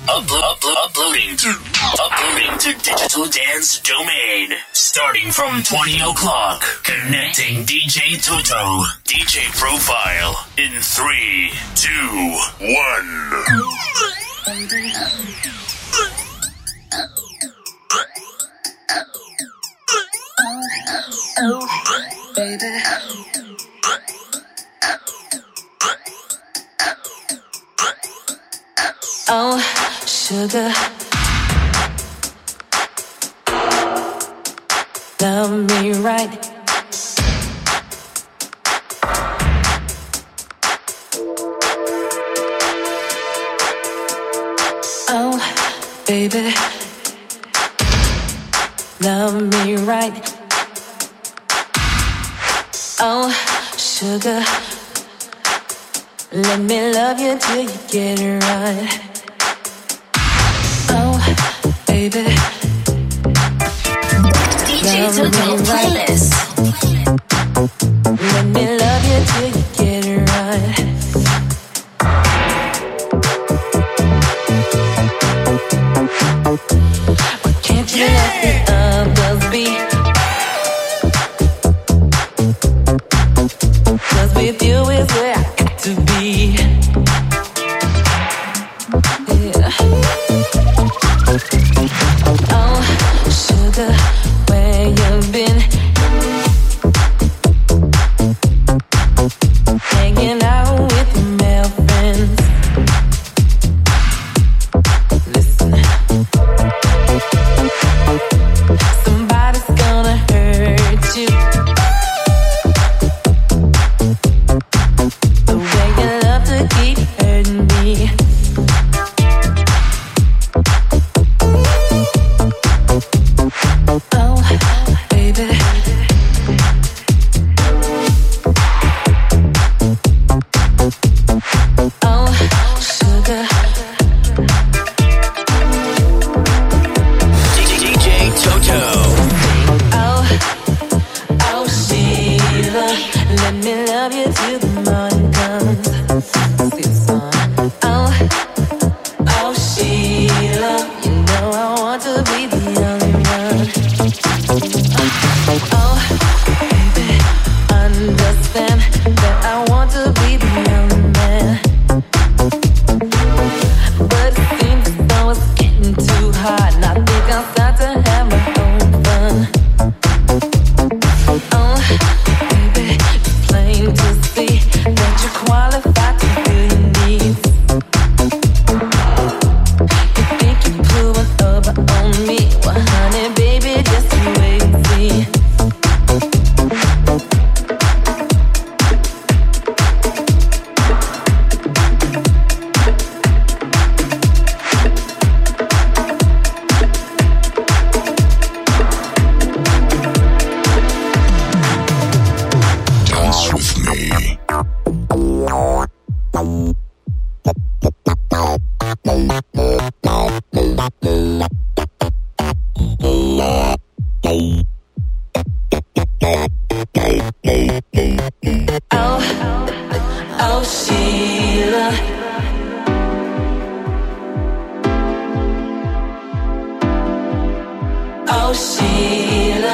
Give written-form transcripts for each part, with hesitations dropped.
Uploading to Digital Dance Domain. Starting from 20 o'clock. Connecting DJ Toto. DJ profile in 3, 2, 1. Oh, baby. Oh, sugar. Love me right. Oh, baby. Love me right. Oh, sugar. Let me love you till you get it right. Oh, baby. DJ Toto playlist. Let me love you till you get it right. Why can't you let the others be? 'Cause with you is where I got to be. Yeah. Oh, sugar, where you been? Hanging out with your male friends. Listen, somebody's gonna hurt you. The way you love to keep hurting me. Oh, baby. Oh, sugar. DJ Toto. Oh, oh, Sheila. Let me love you till the morning comes. See the sun. Oh, oh, Sheila. You know I want to be the only one. Oh, baby, understand that I want to be the only man. But it seems as though it's getting too hard, and I think I'll start to have my own fun. Oh, baby, it's plain to see that you're qualified to fill your needs. You think you're pulling over on me? Well, honey, baby, just you wait and see. Dance with me. Oh, oh, Sheila. Oh, Sheila.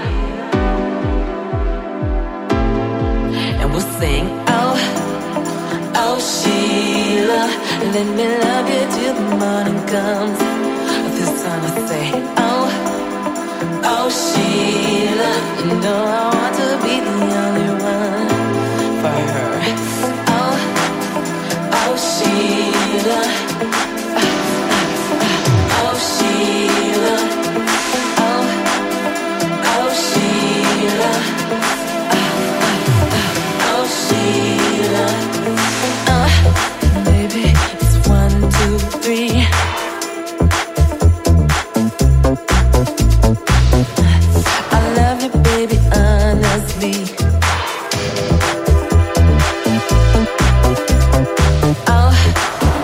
And we'll sing, oh, oh, Sheila. Let me love you till the morning comes. This time I say, oh, oh, Sheila. You know I want to be the only one for her. Oh, oh, Sheila. Oh, Sheila. Oh, oh, Sheila. Oh, Sheila. Baby, it's 1, 2, 3. I love you, baby, honestly. Oh,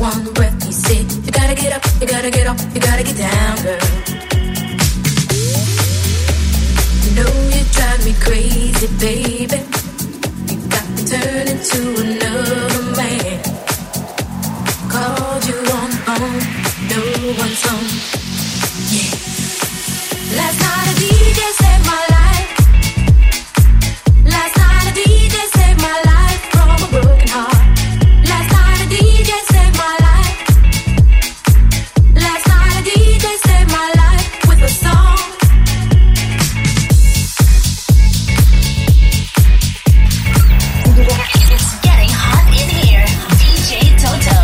one breath, he said, you gotta get up, you gotta get off, you gotta get down, girl. You know you drive me crazy, baby. You got me turning to another man. Called you on the phone, no one's home. Yeah. Last night a DJ saved my life. Last night a DJ saved my life from a broken heart. Last night a DJ saved my life. Last night a DJ saved my life with a song. It's getting hot in here. DJ Toto.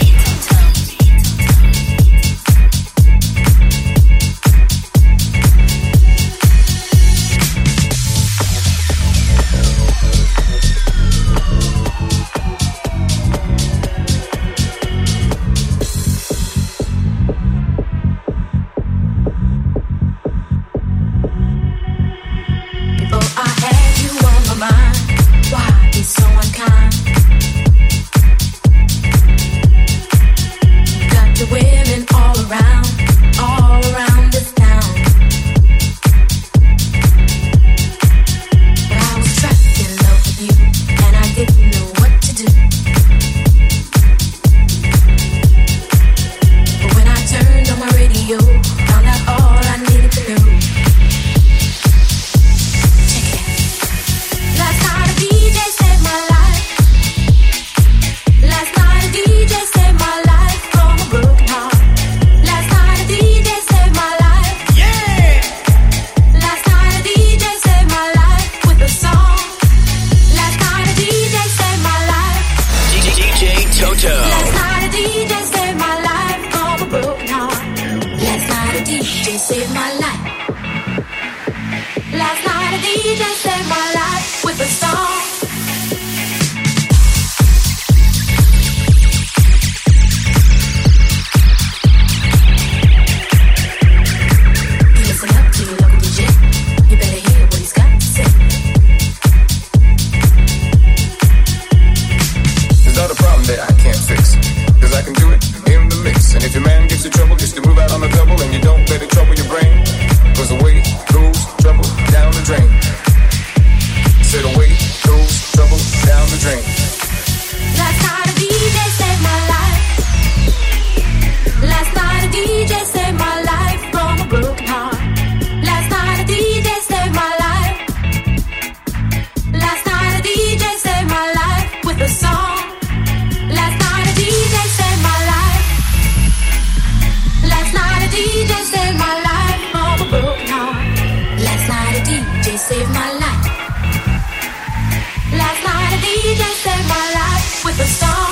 Before I had you on my mind, why be so unkind? Got the women all around this town. But I was trapped in love with you, and I didn't know what to do. But when I turned on my radio, found out all I needed to know. Last night a DJ saved my life. Last night a DJ saved my life from a broken heart. Last night a DJ saved my life. Yeah. Last night a DJ saved my life with a song. Last night a DJ saved my life. DJ Toto. Last night a DJ saved my life from a broken heart. Last night a DJ saved my life. Last night a DJ saved my life with a song. You listen up to your local DJ. You better hear what he's got to say. There's not a problem that I can't fix, 'cause I can do it in the mix. And if your man gives you trouble, just to move out on the double, and you don't let it trouble your brain, 'cause away goes trouble down the drain. Said away goes trouble down the drain. Last night a DJ saved my life. Last night a DJ saved my life from a broken heart. Last night a DJ saved my life. Last night a DJ saved my life with a song. Last night a DJ saved my life. Last night a DJ saved my life from a broken heart. Last night a DJ saved my life. Last night a DJ saved my life with a song.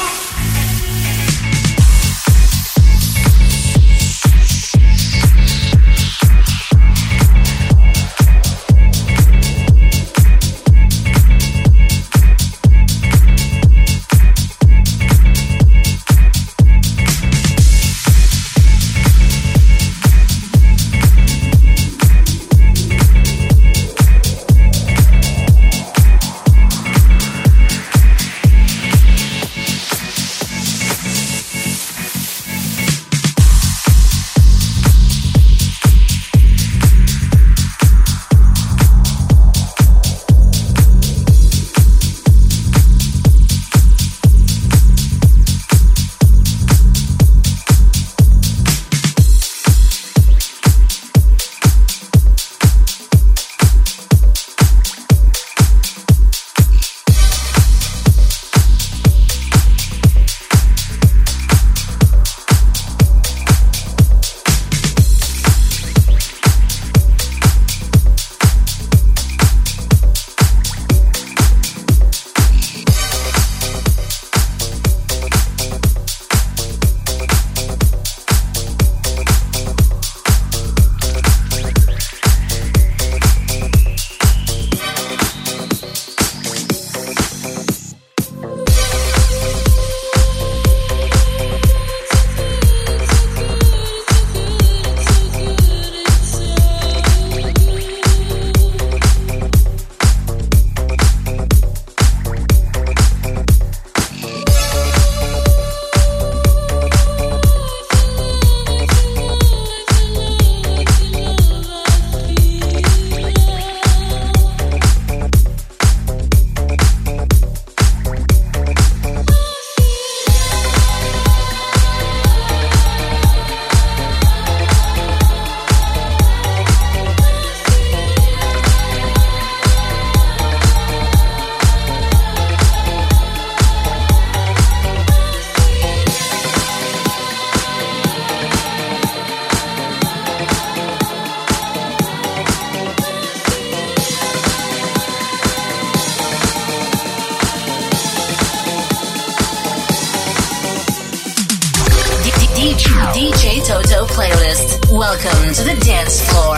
Toto playlist. Welcome to the dance floor.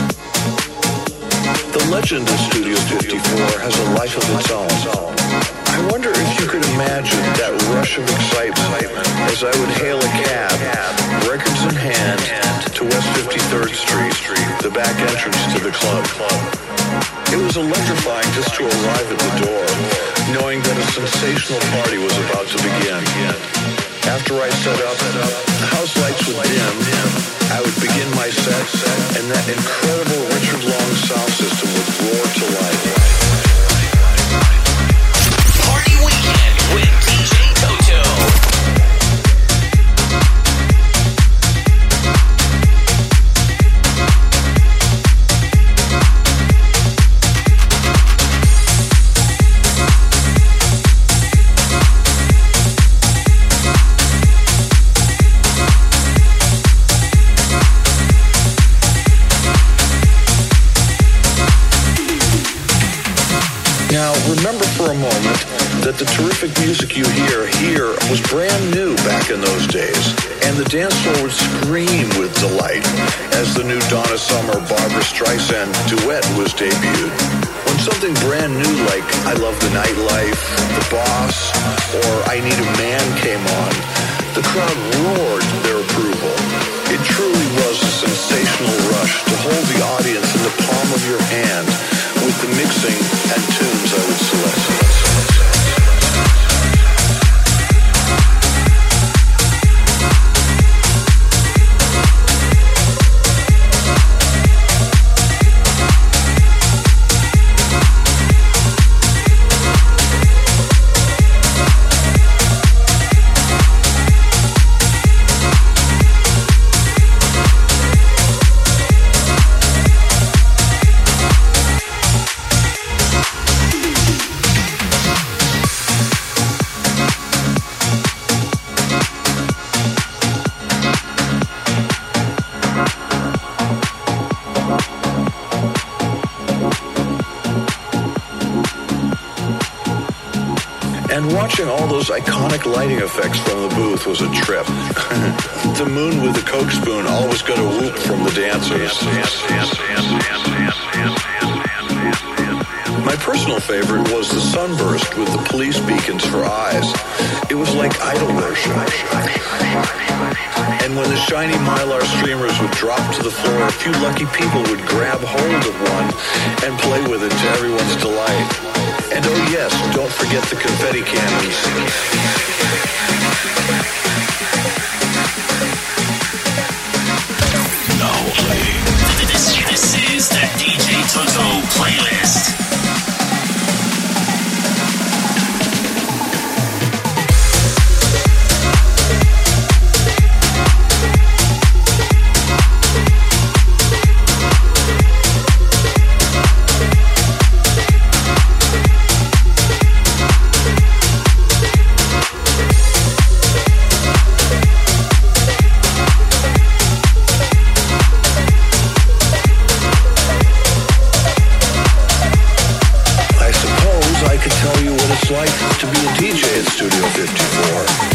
Legend of Studio 54 has a life of its own. I wonder if you could imagine that rush of excitement as I would hail a cab, records in hand, to West 53rd Street, the back entrance to the club. It was electrifying just to arrive at the door, knowing that a sensational party was about to begin. After I set up, the house lights would dim, I would begin my set, and that incredible Richard Long sound system would roar to life. Party Weekend with DJ Toto. Now, remember for a moment that the terrific music you hear here was brand new back in those days, and the dance floor would scream with delight as the new Donna Summer, Barbra Streisand duet was debuted. When something brand new like I Love the Nightlife, The Boss, or I Need a Man came on, the crowd roared their approval. It truly was a sensational rush to hold the audience in the palm of your hand with the mixing and tunes I would select. And watching all those iconic lighting effects from the booth was a trip. The moon with the Coke spoon always got a whoop from the dancers. My personal favorite was the sunburst with the police beacons for eyes. It was like idol worship. And when the shiny Mylar streamers would drop to the floor, a few lucky people would grab hold of one and play with it to everyone's delight. And oh yes, don't forget the confetti cannons. This is the DJ Toto playlist. Like to be a DJ at Studio 54.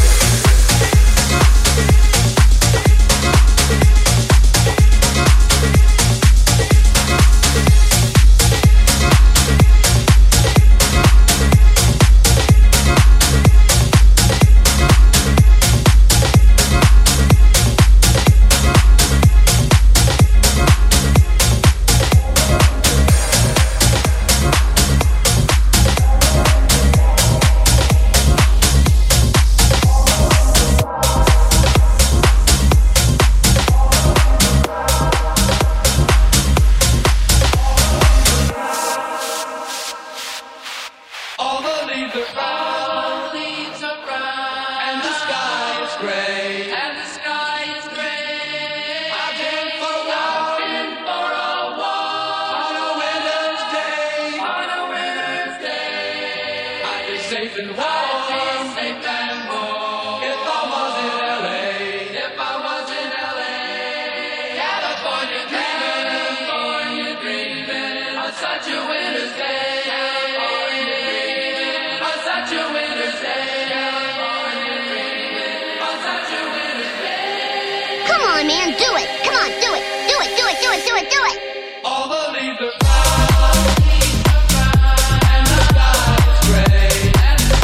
Man, do it. Come on, do it. Do it, do it, do it, do it, do it. All the leaves are brown, and the sky is gray, and the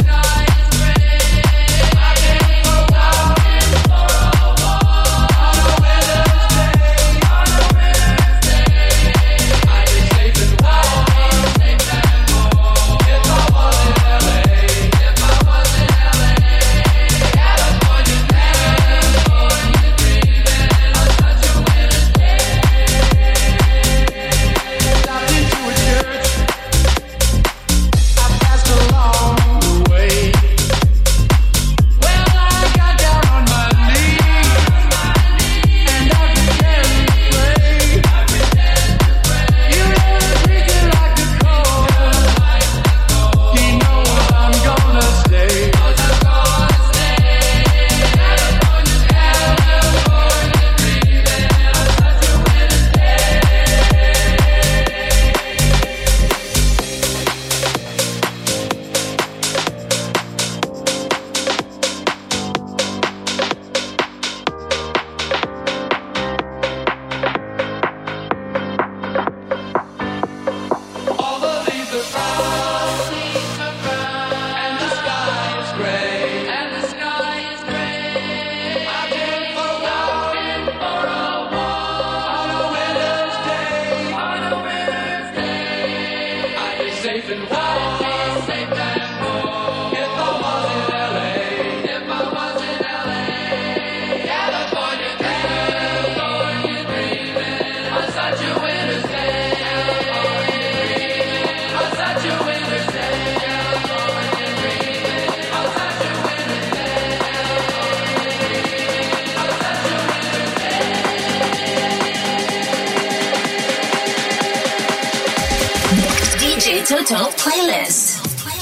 Toto playlist.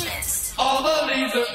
All the leaves are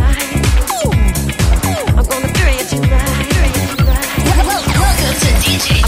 Welcome to DJ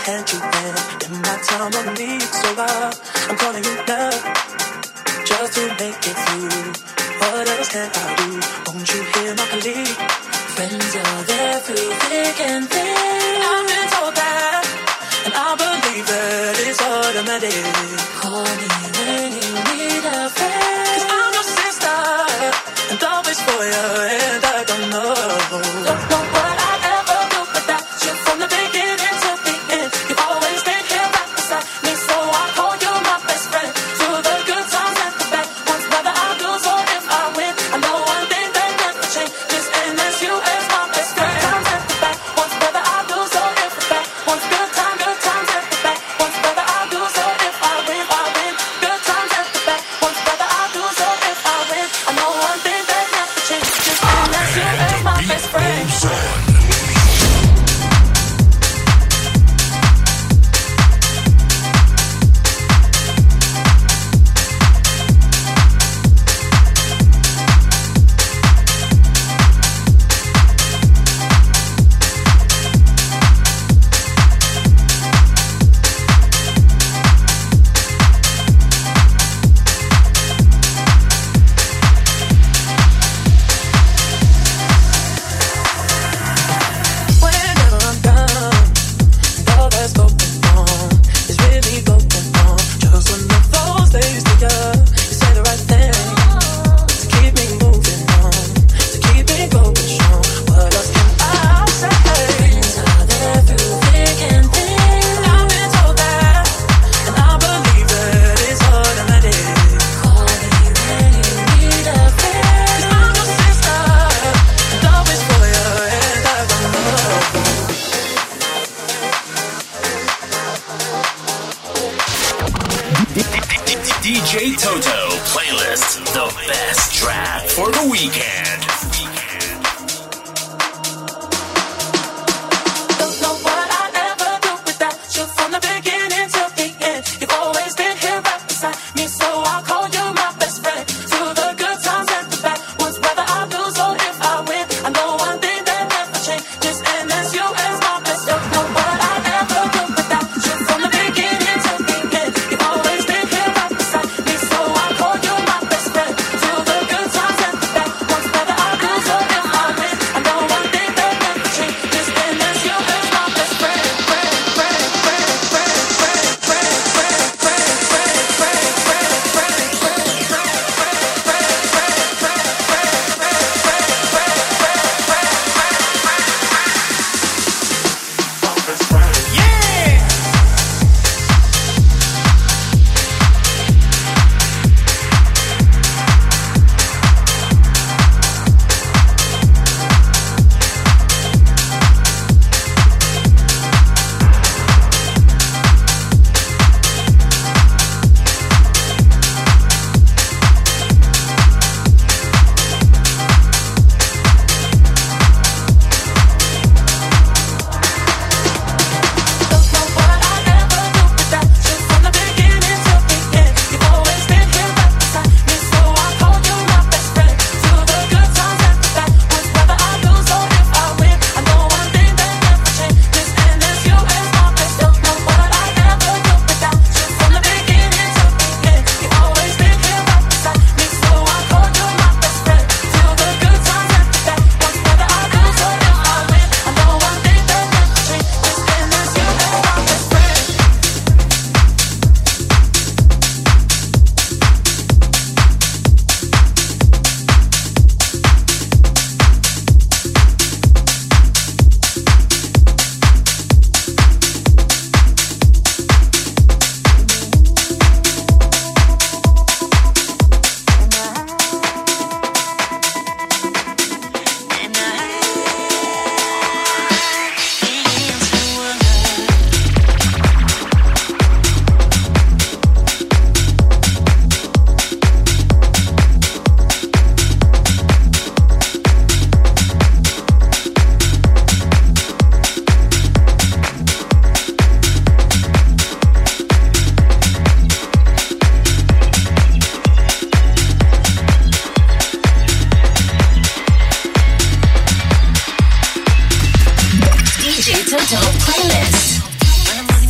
had you in my time of need. So I'm calling you now, just to make it through. What else can I do? Won't you hear my plea? Friends are there through thick and thin. I've been told that, and I believe that it's automatic. Call me when you need a friend, 'cause I'm your sister, and always for you, and I don't know what I'd ever do without you. From the beginning to the end, you've always been here right beside me, so I call you my best friend. Through the good times and the bad ones, whether I lose or if I win, I know one thing that never changes, and that's you as my best friend. Times and the bad ones, whether I lose or if the bad ones, good times and the bad ones, whether I lose or if I win, I win. Good times and the bad ones, whether I lose or if I win, I know one thing that never changes, and that's you as my best friend. DJ Toto playlist, the best track for the weekend. Don't know what I'd ever do without you. From the beginning to the end, you've always been here right beside me, so I call you my best friend. Through the good times and the bad ones, whether I lose or if I win, I know one thing that never changes, and that's you as my best friend. Don't know what I'd ever do without you. From the beginning to the end, you've always been here right beside me, so I call you my best friend. Through the good times and the bad ones, whether I lose or if I win, I know one thing that never changes, and that's you as my best friend. DJ Toto playlist.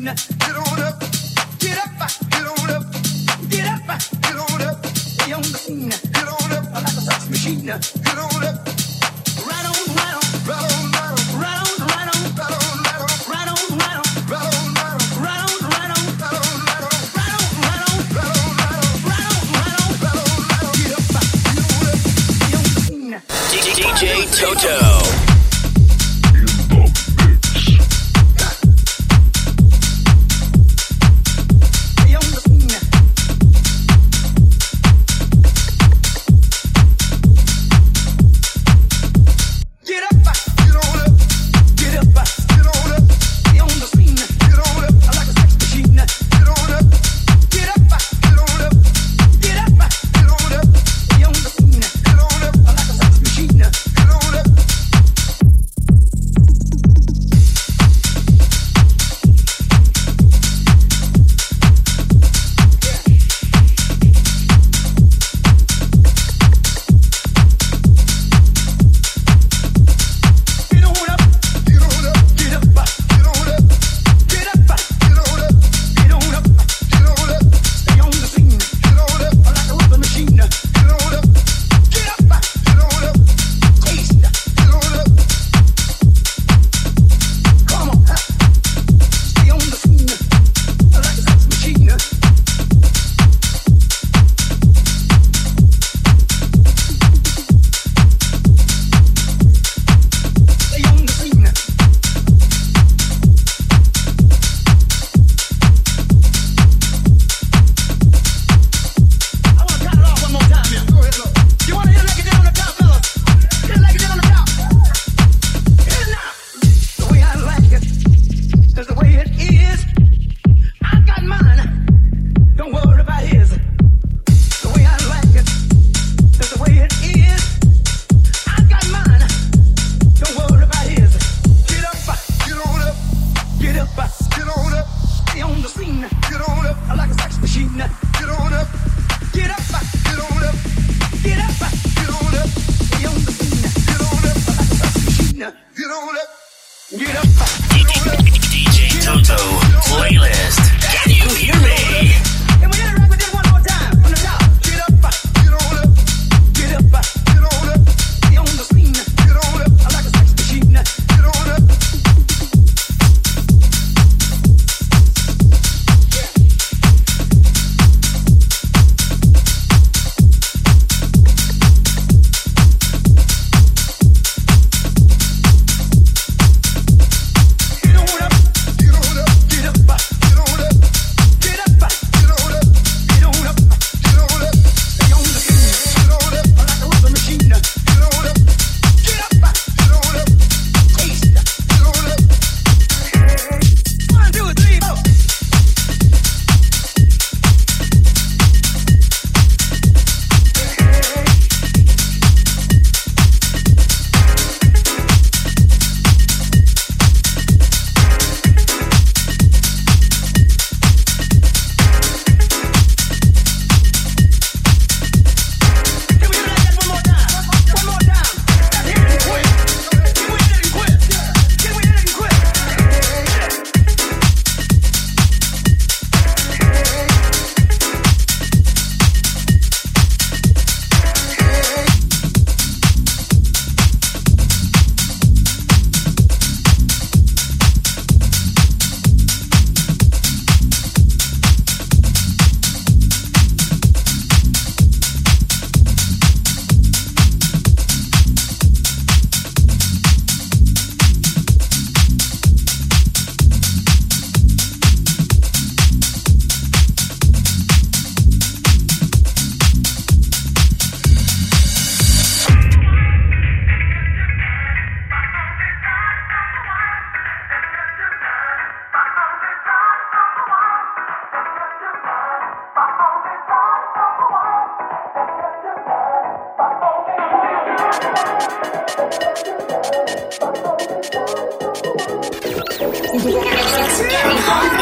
It's getting hot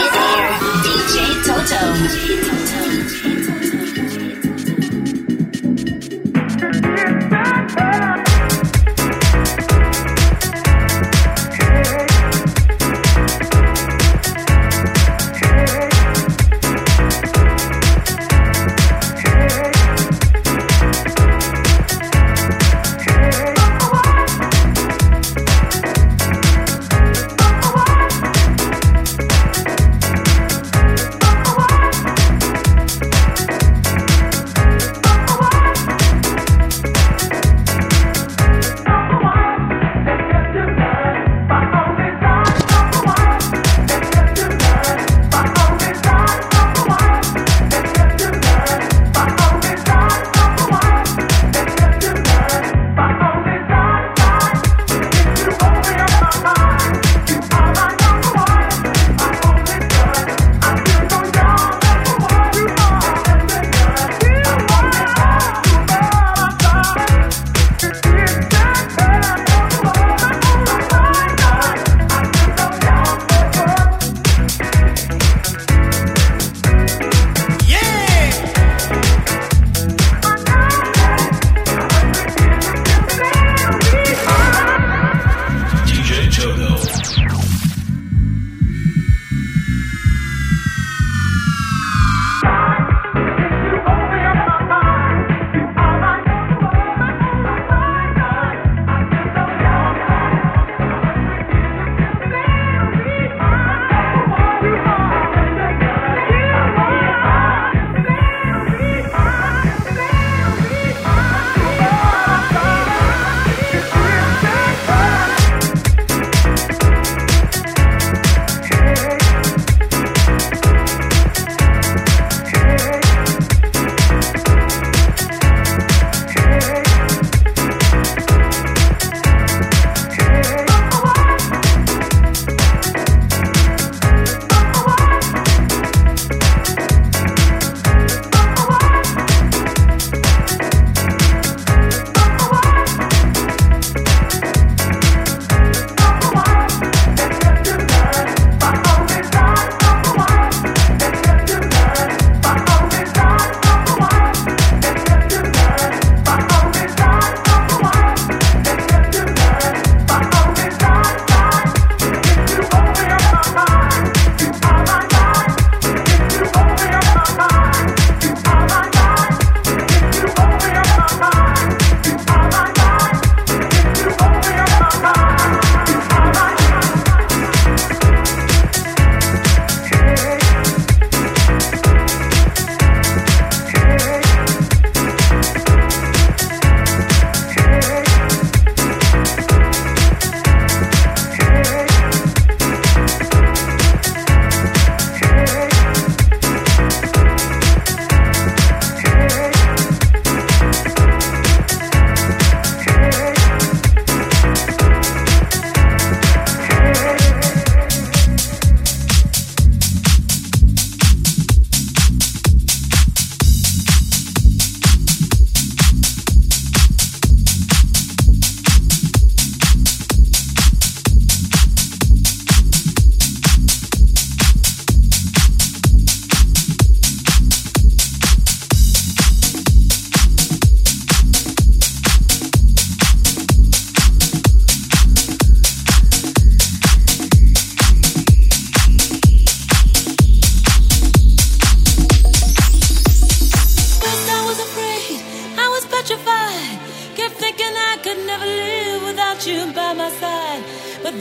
in here. DJ Toto.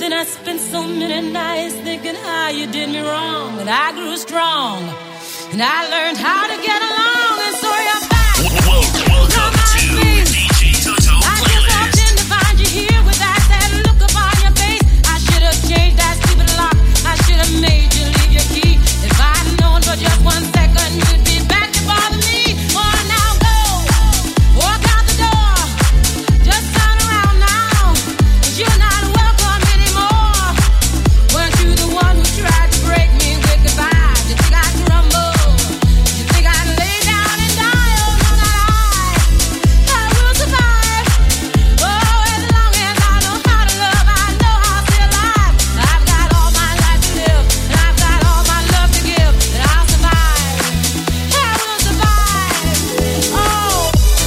then I spent so many nights thinking how you did me wrong. And I grew strong, and I learned how to get along. And so you're back. Welcome to DJ Toto I just walked in to find you here with that sad look upon your face. I should have changed that stupid lock. I should have made you leave your key. If I'd known for just 1 second you'd be back to bother me. Oh, now go, walk out the door. Just turn around now, 'cause you're not welcome anymore. Weren't you the one who tried to break me with goodbye? Did you think I'd crumble? Did you think I'd lay down and die? Oh, no, not I will survive. Oh, as long as I know how to love, I know I'll stay alive. I've got all my life to live, and I've got all my love to give, and I'll survive. I will survive. Oh.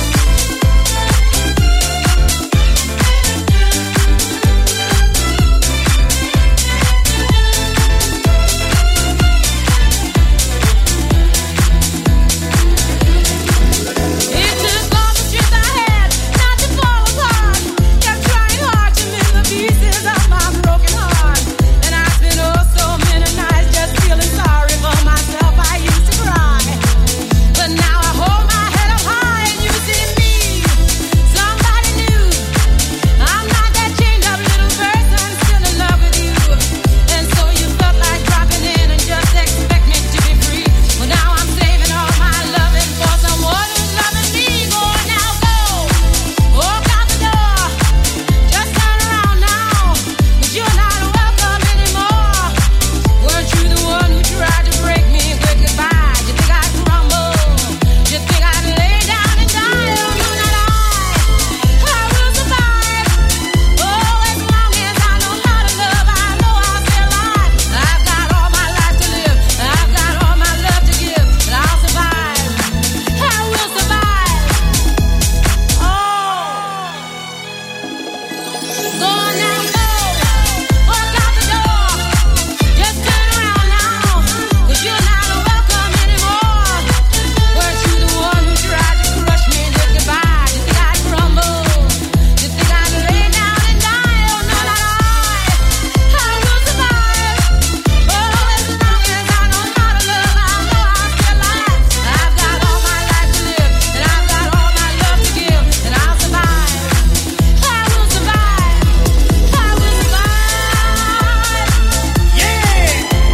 It took all the strength I had not to fall apart. Kept trying hard to mend the pieces of my broken heart. And I spent so many nights just feeling sorry for myself. I used to cry, but now I hold my head up high and you see me, somebody new. I'm not that chained up little person still in love with you. And so you felt like dropping in and just expect me to be free. Well, now I'm saving all my loving for someone who's loving me. Go now, go, walk out the door. Just turn around now, 'cause you're not welcome anymore. Weren't you the one who tried to break me with goodbye? Did you think I'd crumble? Did you think I'd lay down and die? Oh, no, not I will survive. Oh, as long as I know how to love, I know I'll stay alive. I've got all my life to live, and I've got all my love to give, and I'll survive. I will survive. Oh, go on now, go, walk out the door. Just turn around now, 'cause you're not welcome anymore. Weren't you the one who tried to crush me with goodbye? Did you think I'd crumble? Did you think I'd lay down and die? Oh, no, not I will survive. Oh, as long as I know how to love, I know I'll stay alive. I've got all my life to live, and I've got all my love to give, and I'll survive. I will survive. I will survive. Yeah.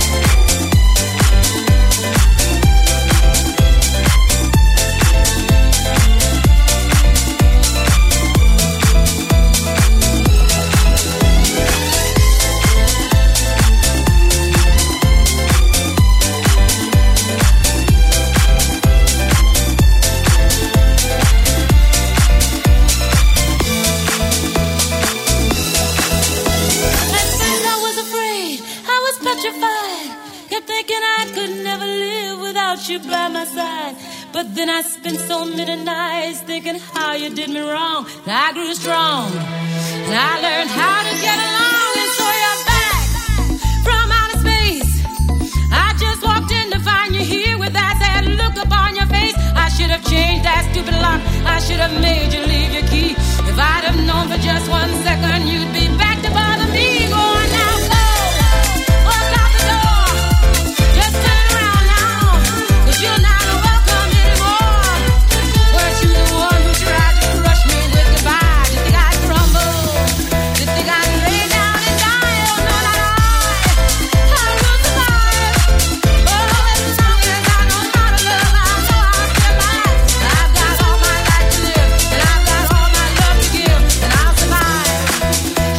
At first I was afraid, I was petrified. Kept thinking I could never live without you by my side. But then I spent so many nights thinking how you did me wrong. And I grew strong, and I learned how to get along. And so you're back from outer space. I just walked in to find you here with that sad look upon your face. I should have changed that stupid lock. I should have made you leave your key. If I'd have known for just 1 second you'd be back to bother me. Go on now, go, walk out the door. Just turn around now, 'cause you're not welcome anymore. Weren't you the one who tried to crush me with goodbye? Did you think I'd crumble? Did you think I'd lay down and die? Oh, no, not I will survive. Oh, as long as I know how to love, I know I'll stay alive. I've got all my life to live, and I've got all my love to give, and I'll survive.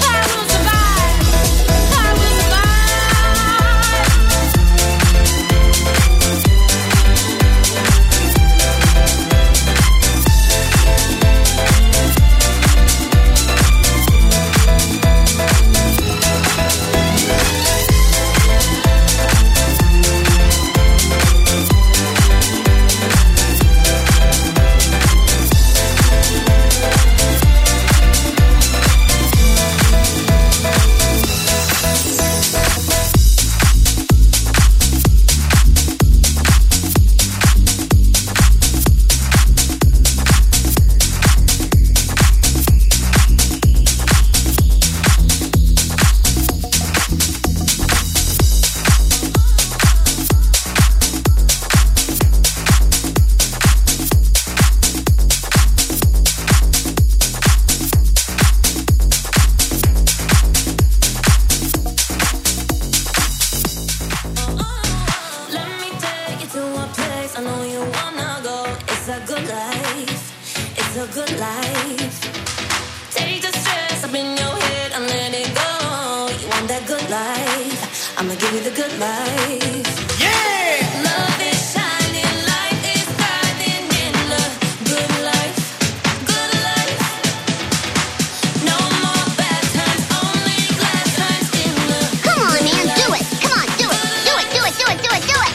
a good life. Take the stress up in your head and let it go. You want that good life? I'ma give you the good life. Yeah! Love is shining, light is shining in the good life. Good life. No more bad times, only glad times in the Come on, man, good do life. it. Come on, do it. Do it, do it, do it, do it, do it.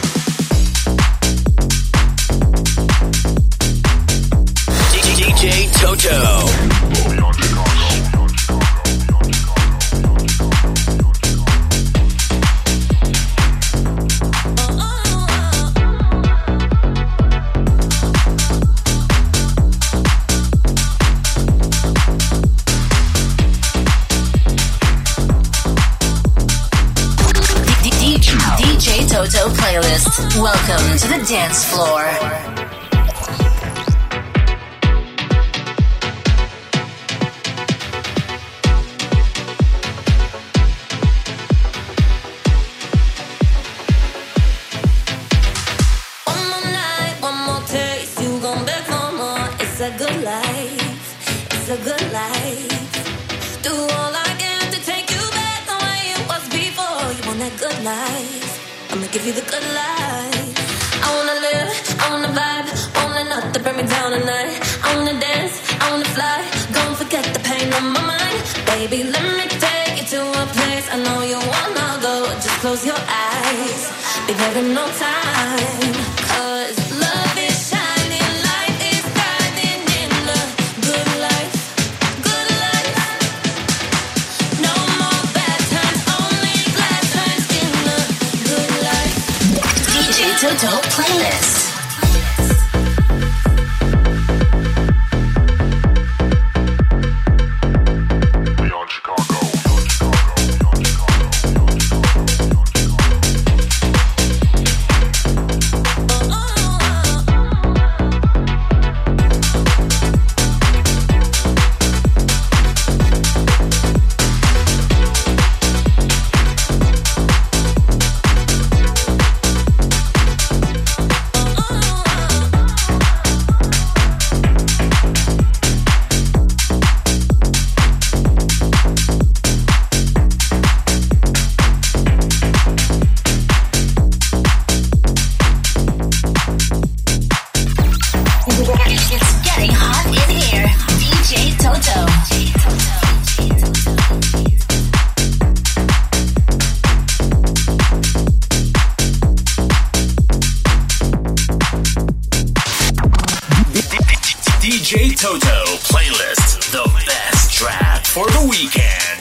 DJ Toto. DJ Toto playlist. Welcome to the dance floor. One more night, one more taste, you gon' beg for more. It's a good life, it's a good life. Do all I can to take you back the way it was before. You want that good life? I'ma give you the good life. I wanna live, I wanna vibe, wanna not to bring me down tonight. I wanna dance, I wanna fly, gon' forget the pain on my mind. Baby, let me take you to a place I know you wanna go. Just close your eyes, be there in no time. 'Cause love is shining, light is shining in the good life. Good life. No more bad times, only glad times in the good life. DJ Toto playlist. It's getting hot in here. DJ Toto. DJ Toto playlist. The best track for the weekend.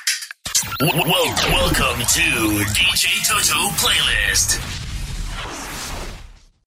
Welcome to DJ Toto playlist.